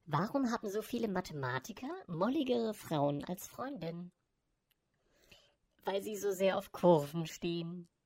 Warum haben so viele Mathematiker molligere Frauen als Freundin? Weil sie so sehr auf Kurven stehen.